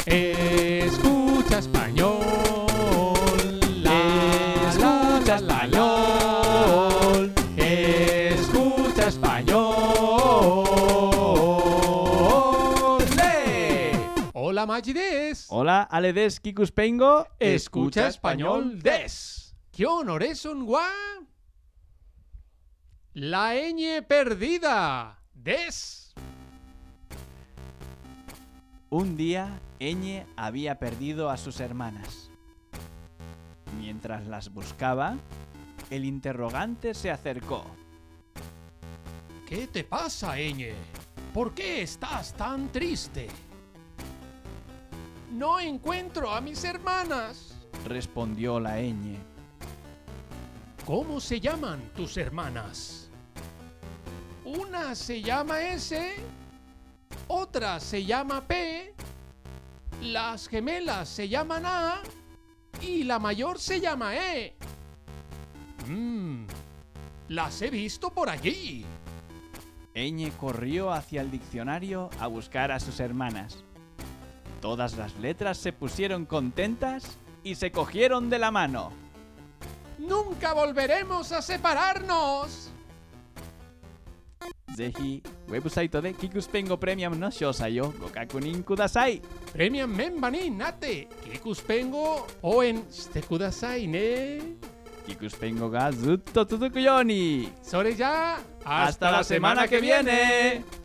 Escucha español. Escucha español. Escucha español. ¡Lee! Hola Magides. Hola, aledes kikuspengo. Escucha español des. ¿Qué honores un gua? La ñ perdida. Des. Un día, Eñe había perdido a sus hermanas. Mientras las buscaba, el interrogante se acercó. ¿Qué te pasa, ñ? ¿Por qué estás tan triste? No encuentro a mis hermanas. Respondió la Eñe. ¿Cómo se llaman tus hermanas? Una se llama S, otra se llama P, las gemelas se llaman A y la mayor se llama E. Las he visto por allí. Eñe corrió hacia el diccionario a buscar a sus hermanas. Todas las letras se pusieron contentas y se cogieron de la mano. ¡Nunca volveremos a separarnos! ぜひ、ウェブサイトでキクスペンゴプレミアムの詳細をご確認ください。 Premium memberになってKikuspengo応援してくださいね。 キクスペンゴがずっと続くように。 それじゃあ、 Hasta la semana que viene.